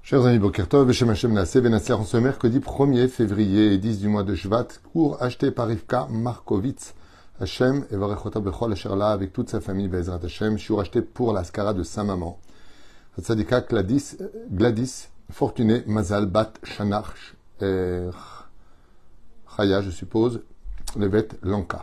Chers amis, Boker Tov, Beshem Hashem Naaseh Benasser, en ce mercredi 1er février et 10 du mois de Shvat, cours acheté par Rivka Markovitz, Hashem et Varechota Bechol Asherla avec toute sa famille, Bezrat Hashem, shiur acheté pour la skara de sa maman. Tzadika Gladys Fortuné Mazal Bat Shanach Chaya, je suppose, Levet Lanka.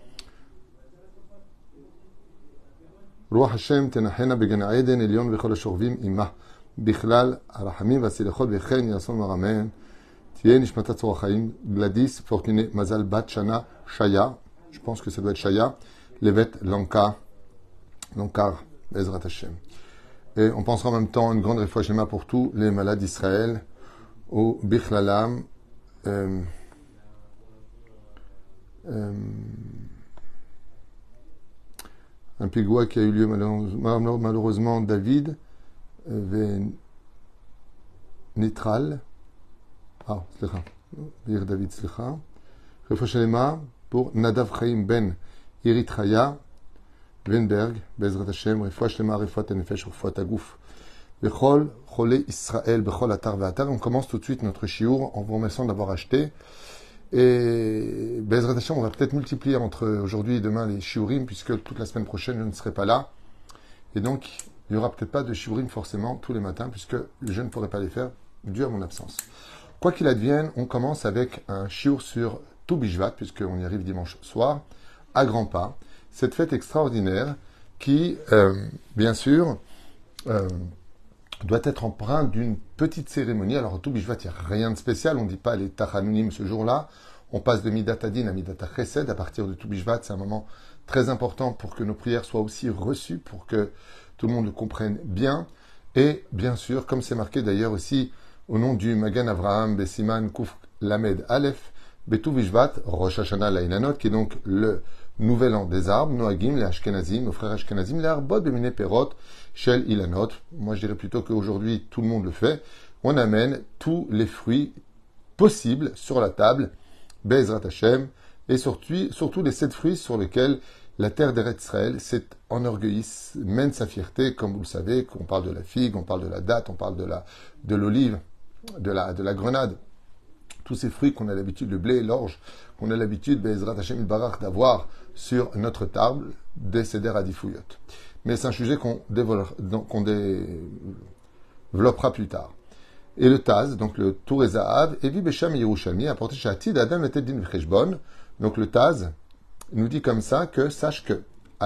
Ruach Hashem Tenachena Began Eden Elion Vechol Ashorvim Ima. בכלל, הרחמים והסליחות וכן יעשון מרמן, תהיה נשמתה צור החיים, גלדיס, פורטוני, מזל, בת שנה, שיה, je pense que ça doit être Shaya, Levet, Lanka, Lankar, Bezrat Hashem. Et on pensera en même temps une grande réfoua Shema pour tous les malades d'Israël, au Bichlalam, un pigoua qui a eu lieu malheureusement, David, Nitral, סליחה, בעיר דוד, סליחה. רפואה שלמה pour Nadav Chaim ben Irit Chaya, Weinberg, בעזרת השם, רפואה שלמה, רפואת הנפש, רפואת הגוף. בכל חולי ישראל, בכל אתר ואתר. On commence tout de suite notre shiur en vous remerciant d'avoir acheté. Et בעזרת השם, on va peut-être multiplier entre aujourd'hui et demain les shiurim, puisque toute la semaine prochaine, je ne serai pas là. Et donc, il n'y aura peut-être pas de shiurim forcément tous les matins, puisque je ne pourrai pas les faire dû à mon absence. Quoi qu'il advienne, on commence avec un shiur sur Tu Bishvat, puisqu'on y arrive dimanche soir, à grands pas. Cette fête extraordinaire qui, bien sûr, doit être empreinte d'une petite cérémonie. Alors, Tu Bishvat, il n'y a rien de spécial. On ne dit pas les Tachanunim ce jour-là. On passe de Midat Adin à Midat Chesed. À partir de Tu Bishvat, c'est un moment très important pour que nos prières soient aussi reçues, pour que tout le monde le comprenne bien. Et bien sûr, comme c'est marqué d'ailleurs aussi au nom du Magan Avraham Besiman Kuf Lamed Aleph, Betu Bishvat, Rosh Hashanah Lainanot, qui est donc le nouvel an des arbres, Noagim, les Ashkenazim, nos frères Ashkenazim, les Arbot Bemine Perot, Shel Ilanot. Moi je dirais plutôt qu'aujourd'hui tout le monde le fait. On amène tous les fruits possibles sur la table, Bezrat Hashem, et surtout les 7 fruits sur lesquels la terre d'Eretz Israël s'est enorgueillie, mène sa fierté, comme vous le savez, qu'on parle de la figue, on parle de la date, on parle de l'olive, de la grenade. Tous ces fruits qu'on a l'habitude, le blé et l'orge, qu'on a l'habitude, Bezrat Hashem Barach, d'avoir sur notre table, des Seder Adifouyot. Mais c'est un sujet qu'on développera plus tard. Et le Taz, donc le Tour et Zahav, Evi Besham Yerushalmi, apporté chez Atid Adam et Teddin Vcheshbon. Donc le Taz nous dit comme ça que sache que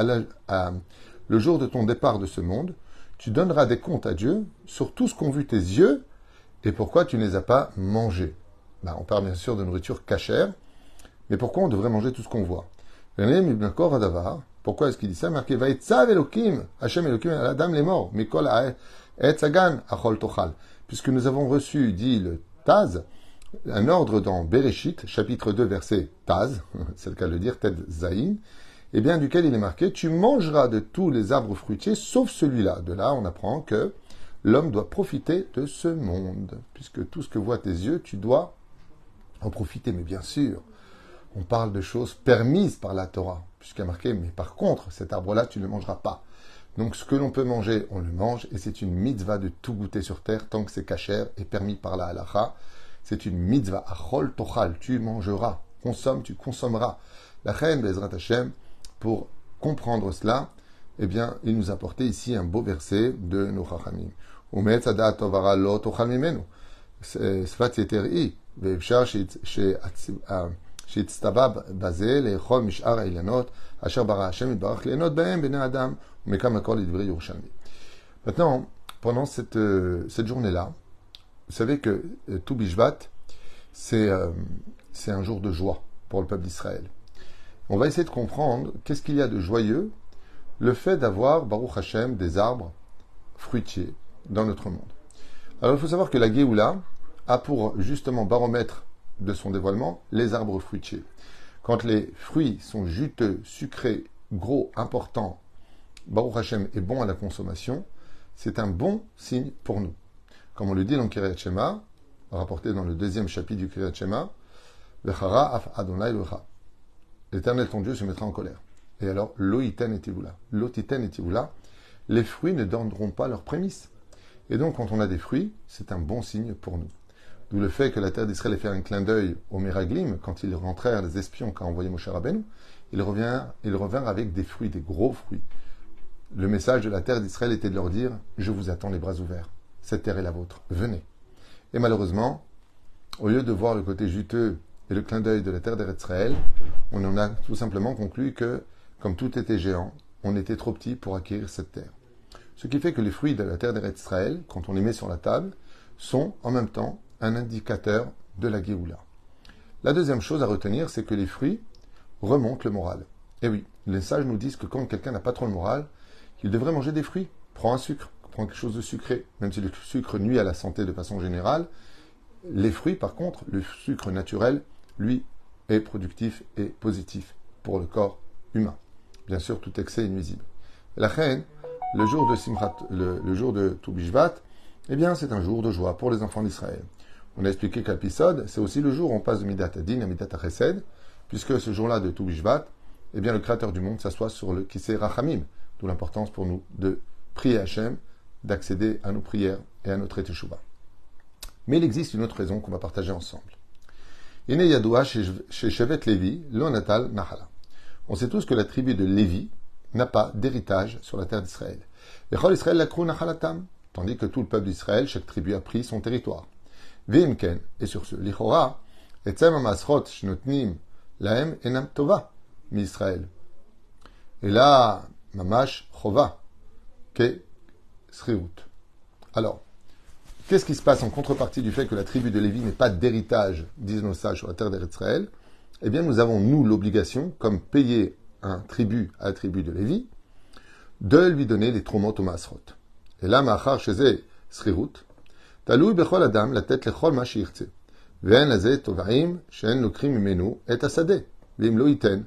le jour de ton départ de ce monde, tu donneras des comptes à Dieu sur tout ce qu'ont vu tes yeux et pourquoi tu ne les as pas mangés. On parle bien sûr de nourriture cachère, mais pourquoi on devrait manger tout ce qu'on voit? Pourquoi est-ce qu'il dit ça? Marqué Vaïtzav Elokim, Hashem Elokim, Adam les morts, Mikol Etzagan, Achol Tochal. Puisque nous avons reçu, dit le Taz, un ordre dans Bereshit, chapitre 2, verset Taz, c'est le cas de le dire, Ted Zayin, et bien duquel il est marqué, tu mangeras de tous les arbres fruitiers, sauf celui-là. De là, on apprend que l'homme doit profiter de ce monde. Puisque tout ce que voient tes yeux, tu dois en profiter. Mais bien sûr, on parle de choses permises par la Torah, puisqu'il y a marqué, mais par contre, cet arbre-là, tu ne le mangeras pas. Donc ce que l'on peut manger, on le mange, et c'est une mitzvah de tout goûter sur terre, tant que c'est cachère et permis par la halacha. C'est une mitzvah, achol tochal, tu mangeras, consomme, tu consommeras. La reine Bezrat Hashem, pour comprendre cela, eh bien, il nous a apporté ici un beau verset de nos chachamim. Umetz adat tovara lo tochal mimenu. Sfat yeteri, ve'efshar she'itztava baze le'echol mish'ar ha'ilyanot, asher bara Hashem yitbarach le'enot ba'em b'nei adam, u'mekam hakol lidvrei Yerushalmi. Maintenant, pendant cette journée-là, vous savez que Tu Bishvat, c'est un jour de joie pour le peuple d'Israël. On va essayer de comprendre qu'est-ce qu'il y a de joyeux, le fait d'avoir, Baruch Hashem, des arbres fruitiers dans notre monde. Alors il faut savoir que la Géoula a pour justement baromètre de son dévoilement les arbres fruitiers. Quand les fruits sont juteux, sucrés, gros, importants, Baruch Hashem est bon à la consommation, c'est un bon signe pour nous. Comme on le dit dans Kiryat Shema, rapporté dans le 2e chapitre du Kiryat Shema, Vechara af Adonai Locha. L'Éternel ton Dieu se mettra en colère. Et alors, Loïten et Tivula. Lotiten et Tivula, les fruits ne donneront pas leurs prémices. Et donc, quand on a des fruits, c'est un bon signe pour nous. D'où le fait que la terre d'Israël ait fait un clin d'œil aux Méraglim, quand ils rentrèrent, les espions qu'a envoyé Moshe Rabbeinu, ils revinrent avec des fruits, des gros fruits. Le message de la terre d'Israël était de leur dire « Je vous attends les bras ouverts. Cette terre est la vôtre. Venez. » Et malheureusement, au lieu de voir le côté juteux et le clin d'œil de la terre d'Israël, on en a tout simplement conclu que, comme tout était géant, on était trop petit pour acquérir cette terre. Ce qui fait que les fruits de la terre d'Israël, quand on les met sur la table, sont en même temps un indicateur de la Géoula. La deuxième chose à retenir, c'est que les fruits remontent le moral. Et oui, les sages nous disent que quand quelqu'un n'a pas trop le moral, il devrait manger des fruits. Prends un sucre, prends quelque chose de sucré. Même si le sucre nuit à la santé de façon générale, les fruits, par contre, le sucre naturel, lui, est productif et positif pour le corps humain. Bien sûr, tout excès est nuisible. La reine, le jour de Tou Bishvat, eh bien, c'est un jour de joie pour les enfants d'Israël. On a expliqué qu'à l'épisode, c'est aussi le jour où on passe de Midat Adin à Midat Chesed, puisque ce jour-là de Tou Bishvat, eh bien, le Créateur du monde s'assoit sur le Kisei Rachamim, d'où l'importance pour nous de prier Hachem, d'accéder à nos prières et à notre Teshuvah. Mais il existe une autre raison qu'on va partager ensemble. Ine Yadoua chez Shevet Lévi, lo natal Nahala. On sait tous que la tribu de Lévi n'a pas d'héritage sur la terre d'Israël. Vechol Israël lakru nachalatam, tandis que tout le peuple d'Israël, chaque tribu a pris son territoire. Veimken, et sur ce, lichora, etzem amasrot shnotnim lahem enam tova mi Israël. Et là, mamash chova, ke sriut. Alors, qu'est-ce qui se passe en contrepartie du fait que la tribu de Lévi n'ait pas d'héritage, disent nos sages, sur la terre d'Israël? Eh bien, nous avons, nous, l'obligation, comme payer un tribut à la tribu de Lévi, de lui donner les tromot au masrot. Et là, ma'achar sheze srirut, talui bechol adam la tête lechol ma shirtze, ve'en laze tovaim she'en lokrim mimenu et asade, ve'im lo iten,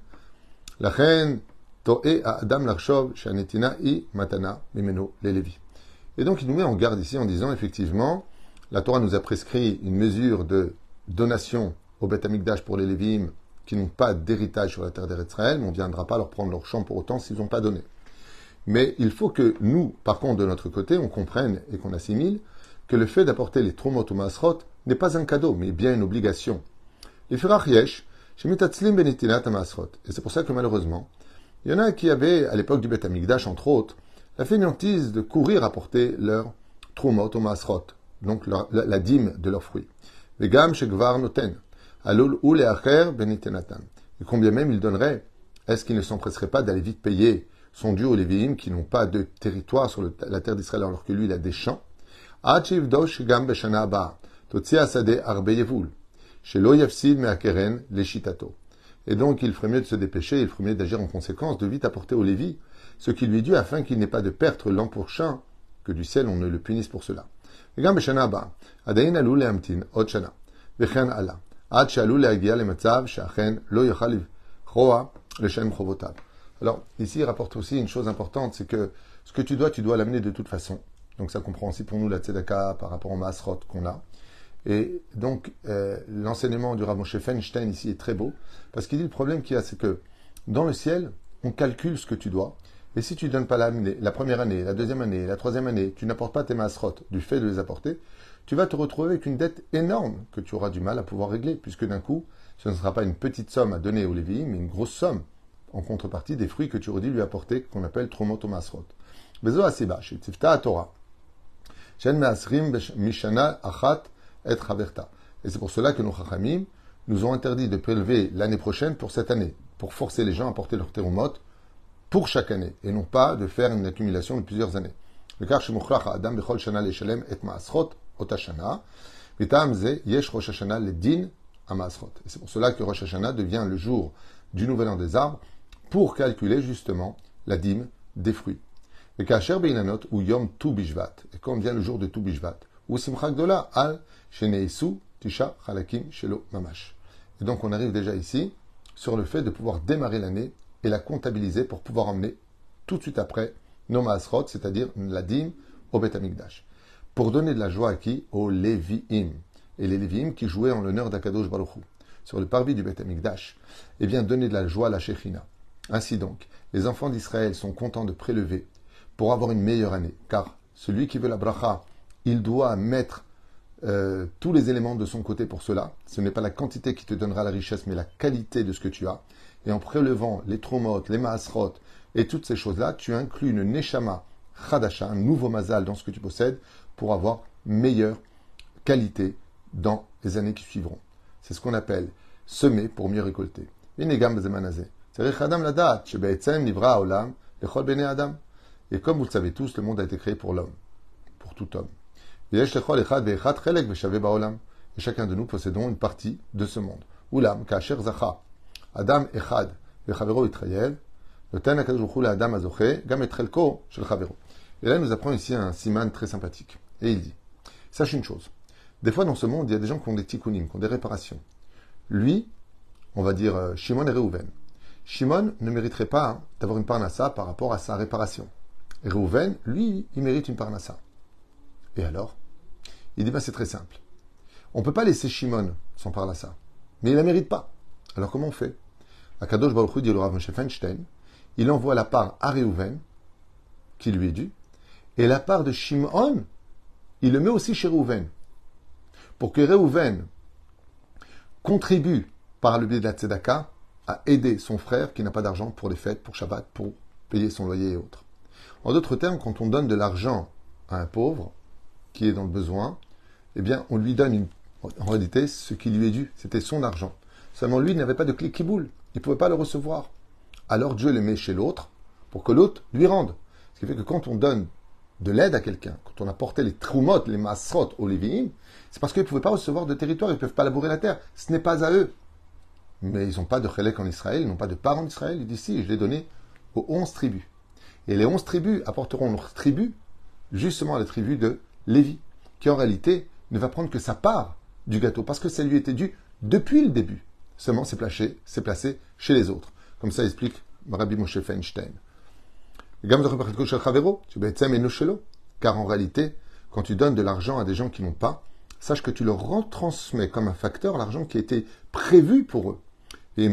lachen to'e a adam l'arshov she'anetina i matana mimenu le Lévi. Et donc, il nous met en garde ici en disant, effectivement, la Torah nous a prescrit une mesure de donation au Beth Amikdash pour les Lévim qui n'ont pas d'héritage sur la terre d'Israël, mais on ne viendra pas leur prendre leur champ pour autant s'ils n'ont pas donné. Mais il faut que nous, par contre, de notre côté, on comprenne et qu'on assimile que le fait d'apporter les tromot ou masrot n'est pas un cadeau, mais bien une obligation. Les firach yesh, shemitatzlim benitinat masrot. Et c'est pour ça que malheureusement, il y en a qui avaient, à l'époque du Beth Amikdash, entre autres, la fainéantise de courir apporter leur tromot ou masrot, donc la dîme de leurs fruits. Vegam shegvar noten, alul ou leacher benitenatan. Et combien même il donnerait, est-ce qu'il ne s'empresserait pas d'aller vite payer son dû aux Lévi'im qui n'ont pas de territoire sur la terre d'Israël alors que lui il a des champs? Achiv dosh gam beshana haba, totzi asade arbe yevul, shelo yafsid me'akeren leshitato. Et donc il ferait mieux de se dépêcher, il ferait mieux d'agir en conséquence, de vite apporter au Lévi ce qui lui est dû afin qu'il n'ait pas de perte l'an prochain, que du ciel on ne le punisse pour cela. Gam beshana haba, adayin alul lehamtin od shana, vechen ala, ad shalul lehagia lematzav sheachen lo yochal livchoa leshem chovotav. Alors, ici, il rapporte aussi une chose importante, c'est que ce que tu dois l'amener de toute façon. Donc, ça comprend aussi pour nous la tzedaka par rapport au masrot qu'on a. Et donc, l'enseignement du Rav Moshe Feinstein ici est très beau, parce qu'il dit le problème qu'il y a, c'est que dans le ciel, on calcule ce que tu dois. Et si tu ne donnes pas la première année, la deuxième année, la troisième année, tu n'apportes pas tes masrot du fait de les apporter, tu vas te retrouver avec une dette énorme que tu auras du mal à pouvoir régler, puisque d'un coup, ce ne sera pas une petite somme à donner aux Lévi'im, mais une grosse somme en contrepartie des fruits que tu aurais dû lui apporter, qu'on appelle tromot ou masrot. Bezo asiba, chez Tifta Torah. Shen me'asrim mishana achat et chaverta. Et c'est pour cela que nos chachamim nous ont interdit de prélever l'année prochaine pour cette année, pour forcer les gens à porter leur terumot pour chaque année, et non pas de faire une accumulation de plusieurs années. Le car shemochlach adam bechol shana leshalem et masrot otashana, vitam ze yesh rosh hashana ledin a masrot. Et c'est pour cela que Rosh Hashanah devient le jour du nouvel an des arbres, pour calculer justement la dîme des fruits. Et Kacher Beinanot ou Yom Tu Bishvat, et quand vient le jour de Tu Bishvat, ou Simcha Gdola al Sheneisu Tisha Chalakim Shelo Mamash. Et donc on arrive déjà ici sur le fait de pouvoir démarrer l'année et la comptabiliser pour pouvoir emmener tout de suite après nos Maasrot, c'est-à-dire la dîme au Beth Amikdash. Pour donner de la joie à qui? Aux Lévi'im. Et les Lévi'im qui jouaient en l'honneur d'Akadosh Baruch Hu. Sur le parvis du Beth Amikdash, eh bien donner de la joie à la Shechina. Ainsi donc, les enfants d'Israël sont contents de prélever pour avoir une meilleure année, car celui qui veut la bracha il doit mettre tous les éléments de son côté pour cela. Ce n'est pas la quantité qui te donnera la richesse, mais la qualité de ce que tu as. Et en prélevant les tromotes, les maasrot et toutes ces choses-là, tu inclus une neshama chadasha, un nouveau mazal dans ce que tu possèdes pour avoir meilleure qualité dans les années qui suivront. C'est ce qu'on appelle semer pour mieux récolter. Et comme vous le savez tous, le monde a été créé pour l'homme, pour tout homme. Et chacun de nous possédons une partie de ce monde. Oulam, kasher zacha, Adam echad, vechavero itrayel, noten hakadosh baruch hu laadam hazoche, gam et chelko shel chavero. Et là, il nous apprend ici un siman très sympathique. Et il dit, sache une chose, des fois dans ce monde, il y a des gens qui ont des tikkunim, qui ont des réparations. Lui, on va dire Shimon et Reuven. Shimon ne mériterait pas d'avoir une parnassa par rapport à sa réparation. Et Reuven, lui, il mérite une parnassa. Et alors? Il dit, c'est très simple. On ne peut pas laisser Shimon sans parnassa. Mais il ne la mérite pas. Alors comment on fait? Akadosh Baruch Hu dit le Rav Moshe Feinstein, il envoie la part à Reuven, qui lui est due, et la part de Shimon, il le met aussi chez Reuven. Pour que Reuven contribue par le biais de la tzedaka à aider son frère qui n'a pas d'argent pour les fêtes, pour Shabbat, pour payer son loyer et autres. En d'autres termes, quand on donne de l'argent à un pauvre qui est dans le besoin, eh bien, on lui donne en réalité ce qui lui est dû. C'était son argent. Seulement lui n'avait pas de clé kiboul. Il ne pouvait pas le recevoir. Alors Dieu le met chez l'autre pour que l'autre lui rende. Ce qui fait que quand on donne de l'aide à quelqu'un, quand on a porté les trumot, les masrot aux Lévi'im, c'est parce qu'ils ne pouvaient pas recevoir de territoire, ils ne peuvent pas labourer la terre. Ce n'est pas à eux. Mais ils n'ont pas de chélek en Israël, ils n'ont pas de part en Israël. Il dit si, je l'ai donné aux 11 tribus. Et les 11 tribus apporteront leur tribu, justement à la tribu de Lévi, qui en réalité ne va prendre que sa part du gâteau, parce que ça lui était dû depuis le début. Seulement c'est placé chez les autres. Comme ça explique Rabbi Moshe Feinstein. Car en réalité, quand tu donnes de l'argent à des gens qui n'ont pas, sache que tu leur retransmets comme un facteur l'argent qui a été prévu pour eux. Et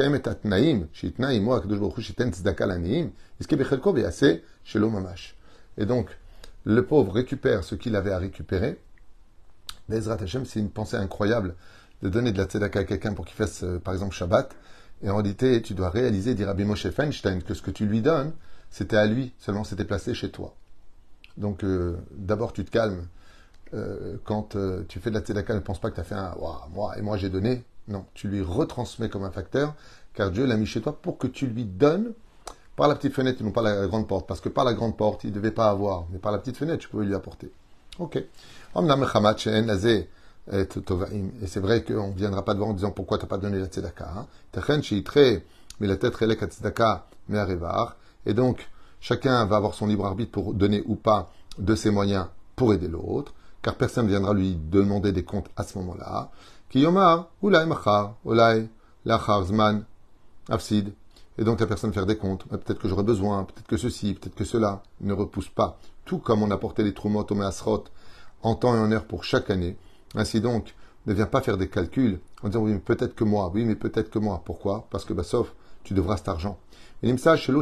donc, le pauvre récupère ce qu'il avait à récupérer. Bezrat Hashem, c'est une pensée incroyable de donner de la tzedaka à quelqu'un pour qu'il fasse, par exemple, Shabbat. Et en réalité, tu dois réaliser, dit Rabbi Moshe Feinstein, que ce que tu lui donnes, c'était à lui, seulement c'était placé chez toi. Donc, d'abord, tu te calmes. Quand tu fais de la tzedaka, ne pense pas que tu as fait un « moi j'ai donné ». Non, tu lui retransmets comme un facteur, car Dieu l'a mis chez toi pour que tu lui donnes par la petite fenêtre et non pas la grande porte. Parce que par la grande porte, il ne devait pas avoir, mais par la petite fenêtre, tu pouvais lui apporter. Ok. Et c'est vrai qu'on ne viendra pas devant en disant pourquoi tu n'as pas donné la tzedaka. Et donc, chacun va avoir son libre arbitre pour donner ou pas de ses moyens pour aider l'autre, car personne ne viendra lui demander des comptes à ce moment-là. Kiyomar, ulay machar, ulay lachar zman, afsid. Et donc la personne faire des comptes. Peut-être que j'aurai besoin, peut-être que ceci, peut-être que cela ne repousse pas. Tout comme on a porté les trumot au measrot en temps et en heure pour chaque année. Ainsi donc, ne viens pas faire des calculs en disant oui, mais peut-être que moi, oui, mais peut-être que moi. Pourquoi? Parce que sauf, tu devras cet argent. Et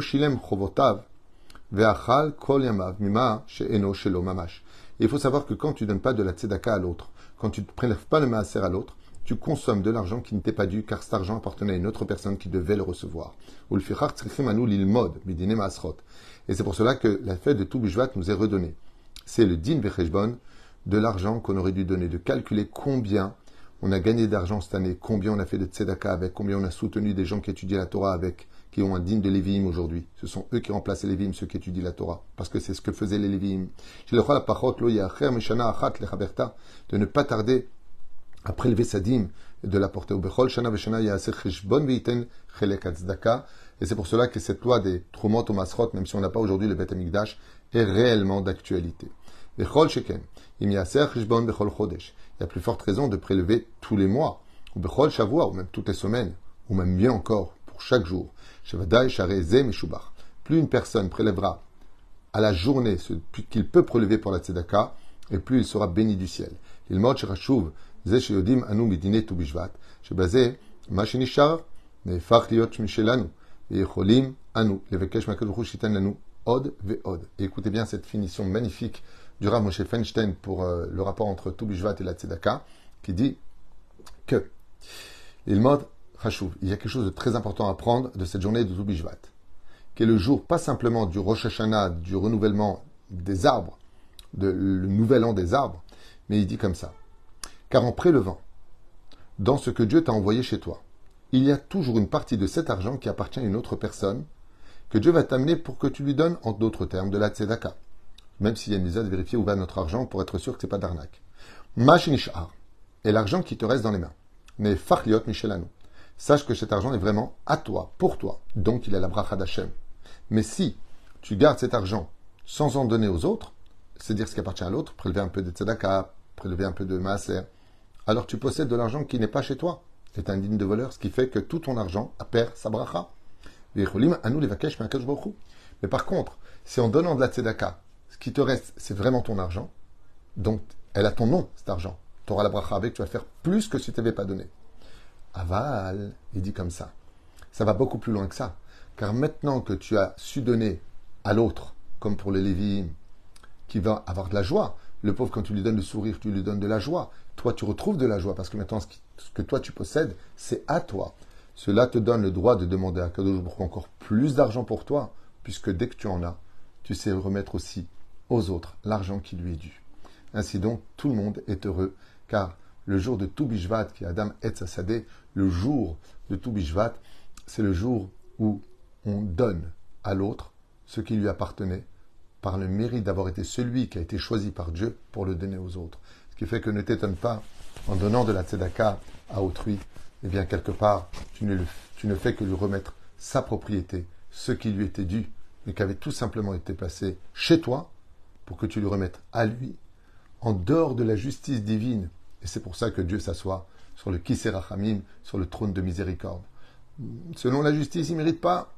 il faut savoir que quand tu ne donnes pas de la tzedaka à l'autre, quand tu ne prélèves pas le maaser à l'autre, tu consommes de l'argent qui ne t'est pas dû, car cet argent appartenait à une autre personne qui devait le recevoir. Et c'est pour cela que la fête de Tou B'Shvat nous est redonnée. C'est le din vecheshbon de l'argent qu'on aurait dû donner, de calculer combien on a gagné d'argent cette année, combien on a fait de tzedaka avec, combien on a soutenu des gens qui étudient la Torah avec, qui ont un din de Lévi'im aujourd'hui. Ce sont eux qui remplacent les Lévi'im, ceux qui étudient la Torah, parce que c'est ce que faisaient les Lévi'im. De ne pas tarder à prélever sa dîme et de la porter au Bechol Shana Veshana Ya'aser Cheshbon Ve'iten Chelek HaTzdaka. Et c'est pour cela que cette loi des Trumot au Masrot, même si on n'a pas aujourd'hui le Beth Amikdash, est réellement d'actualité. Bechol Sheken, Im Ya'aser Cheshbon Bechol Chodesh. Il y a plus forte raison de prélever tous les mois, ou Bechol Shavua, ou même toutes les semaines, ou même mieux encore, pour chaque jour. Shevadai Share Ze Meshubach. Plus une personne prélèvera à la journée ce qu'il peut prélever pour la Tzedaka, et plus il sera béni du ciel. Il mot Shirashuv זה שיודעים אנו מדיני ט"ו בשבט, שבזה מה שנשאר נהפך להיות משלנו, ויכולים אנו לבקש מהקדוש ברוך הוא שייתן לנו od ve'od. Et écoutez bien cette finition magnifique du Rav Moshe Feinstein pour le rapport entre Tu Bishvat et la Tzedaka, qui dit que il mode Chashuv, il y a quelque chose de très important à prendre de cette journée de Tu Bishvat, qui est le jour pas simplement du Rosh Hashanah, du renouvellement des arbres, le nouvel an des arbres, mais il dit comme ça. Car en prélevant, dans ce que Dieu t'a envoyé chez toi, il y a toujours une partie de cet argent qui appartient à une autre personne, que Dieu va t'amener pour que tu lui donnes, en d'autres termes, de la tzedaka. Même s'il y a une mise à vérifier où va notre argent pour être sûr que ce n'est pas d'arnaque. Mashinishar est l'argent qui te reste dans les mains. Mais fachliot michelanu. Sache que cet argent est vraiment à toi, pour toi. Donc il a la bracha d'Hachem. Mais si tu gardes cet argent sans en donner aux autres, c'est-à-dire ce qui appartient à l'autre, prélever un peu de tzedaka, prélever un peu de maaser, alors tu possèdes de l'argent qui n'est pas chez toi. C'est indigne de voleur, ce qui fait que tout ton argent perd sa bracha. Mais par contre, si en donnant de la tzedaka, ce qui te reste, c'est vraiment ton argent, donc elle a ton nom, cet argent. Tu auras la bracha avec, tu vas faire plus que si tu n'avais pas donné. Aval, il dit comme ça. Ça va beaucoup plus loin que ça. Car maintenant que tu as su donner à l'autre, comme pour les Lévi'im, qui va avoir de la joie, le pauvre, quand tu lui donnes le sourire, tu lui donnes de la joie. Toi, tu retrouves de la joie, parce que maintenant, ce que toi, tu possèdes, c'est à toi. Cela te donne le droit de demander à Kadosh Baruch Hu encore plus d'argent pour toi, puisque dès que tu en as, tu sais remettre aussi aux autres l'argent qui lui est dû. Ainsi donc, tout le monde est heureux, car le jour de Tu Bishvat, qui est Adam Etz Hasadeh, le jour de Tu Bishvat, c'est le jour où on donne à l'autre ce qui lui appartenait, par le mérite d'avoir été celui qui a été choisi par Dieu pour le donner aux autres. Ce qui fait que ne t'étonne pas, en donnant de la tzedaka à autrui, eh bien, quelque part, tu ne fais que lui remettre sa propriété, ce qui lui était dû, mais qui avait tout simplement été placé chez toi, pour que tu lui remettes à lui, en dehors de la justice divine. Et c'est pour ça que Dieu s'assoit sur le Kisei Rachamim, sur le trône de miséricorde. Selon la justice, il ne mérite pas.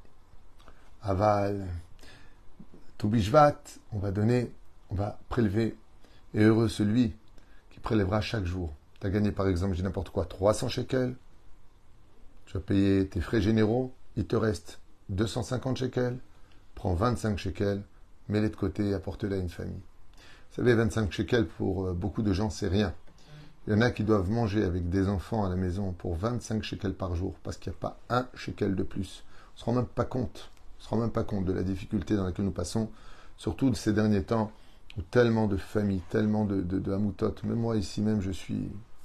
Aval, Tu Bishvat, on va donner, on va prélever. Et heureux celui qui prélèvera chaque jour. Tu as gagné, par exemple, j'ai n'importe quoi, 300 shekels. Tu vas payer tes frais généraux. Il te reste 250 shekels. Prends 25 shekels, mets-les de côté et apporte-les à une famille. Vous savez, 25 shekels, pour beaucoup de gens, c'est rien. Il y en a qui doivent manger avec des enfants à la maison pour 25 shekels par jour, parce qu'il n'y a pas un shekel de plus. On ne se rend même pas compte. On ne se rend même pas compte de la difficulté dans laquelle nous passons, surtout de ces derniers temps, où tellement de familles, tellement de hamoutot, même moi ici même, je suis...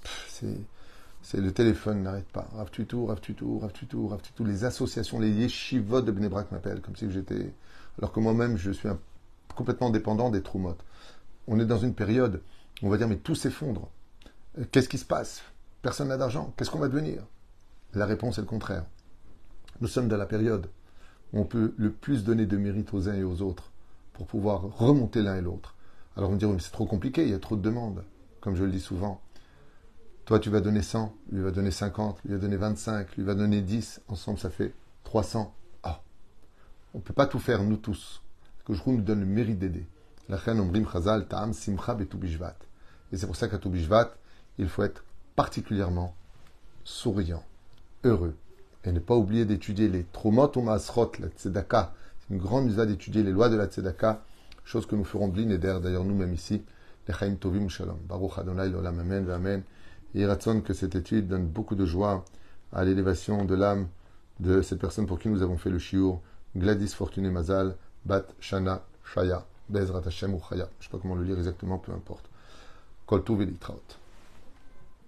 C'est le téléphone n'arrête pas. Rav Tutu, Rav Tutu, Rav Tutu, Rav Tutu. Les associations, les yeshivot de Bnei Brak m'appellent, comme si j'étais... Alors que moi-même, je suis complètement dépendant des troumot. On est dans une période où on va dire, mais tout s'effondre. Qu'est-ce qui se passe? Personne n'a d'argent. Qu'est-ce qu'on va devenir? La réponse est le contraire. Nous sommes dans la période où on peut le plus donner de mérite aux uns et aux autres pour pouvoir remonter l'un et l'autre. Alors on me dit, oui, mais c'est trop compliqué, il y a trop de demandes. Comme je le dis souvent, toi tu vas donner 100, lui va donner 50, lui va donner 25, lui va donner 10, ensemble ça fait 300. Ah, on ne peut pas tout faire, nous tous. Parce que je nous donne le mérite d'aider. La chen omrim chazal ta'am simcha betu bishvat. Et c'est pour ça qu'à Tu Bishvat, il faut être particulièrement souriant, heureux. Et ne pas oublier d'étudier les tromot ou maasrot, la tzedaka. C'est une grande usage d'étudier les lois de la tzedaka, chose que nous ferons blin et d'ailleurs nous-mêmes ici. Lechaim tovim shalom. Baruch Adonai l'olam amen v'amen. Et il ratson que cette étude donne beaucoup de joie à l'élévation de l'âme de cette personne pour qui nous avons fait le shiur, Gladys Fortuné Mazal, Bat Shana Shaya, Bezrat Hashem ou Chaya. Je ne sais pas comment le lire exactement, peu importe. Kol Tuv et Litraot.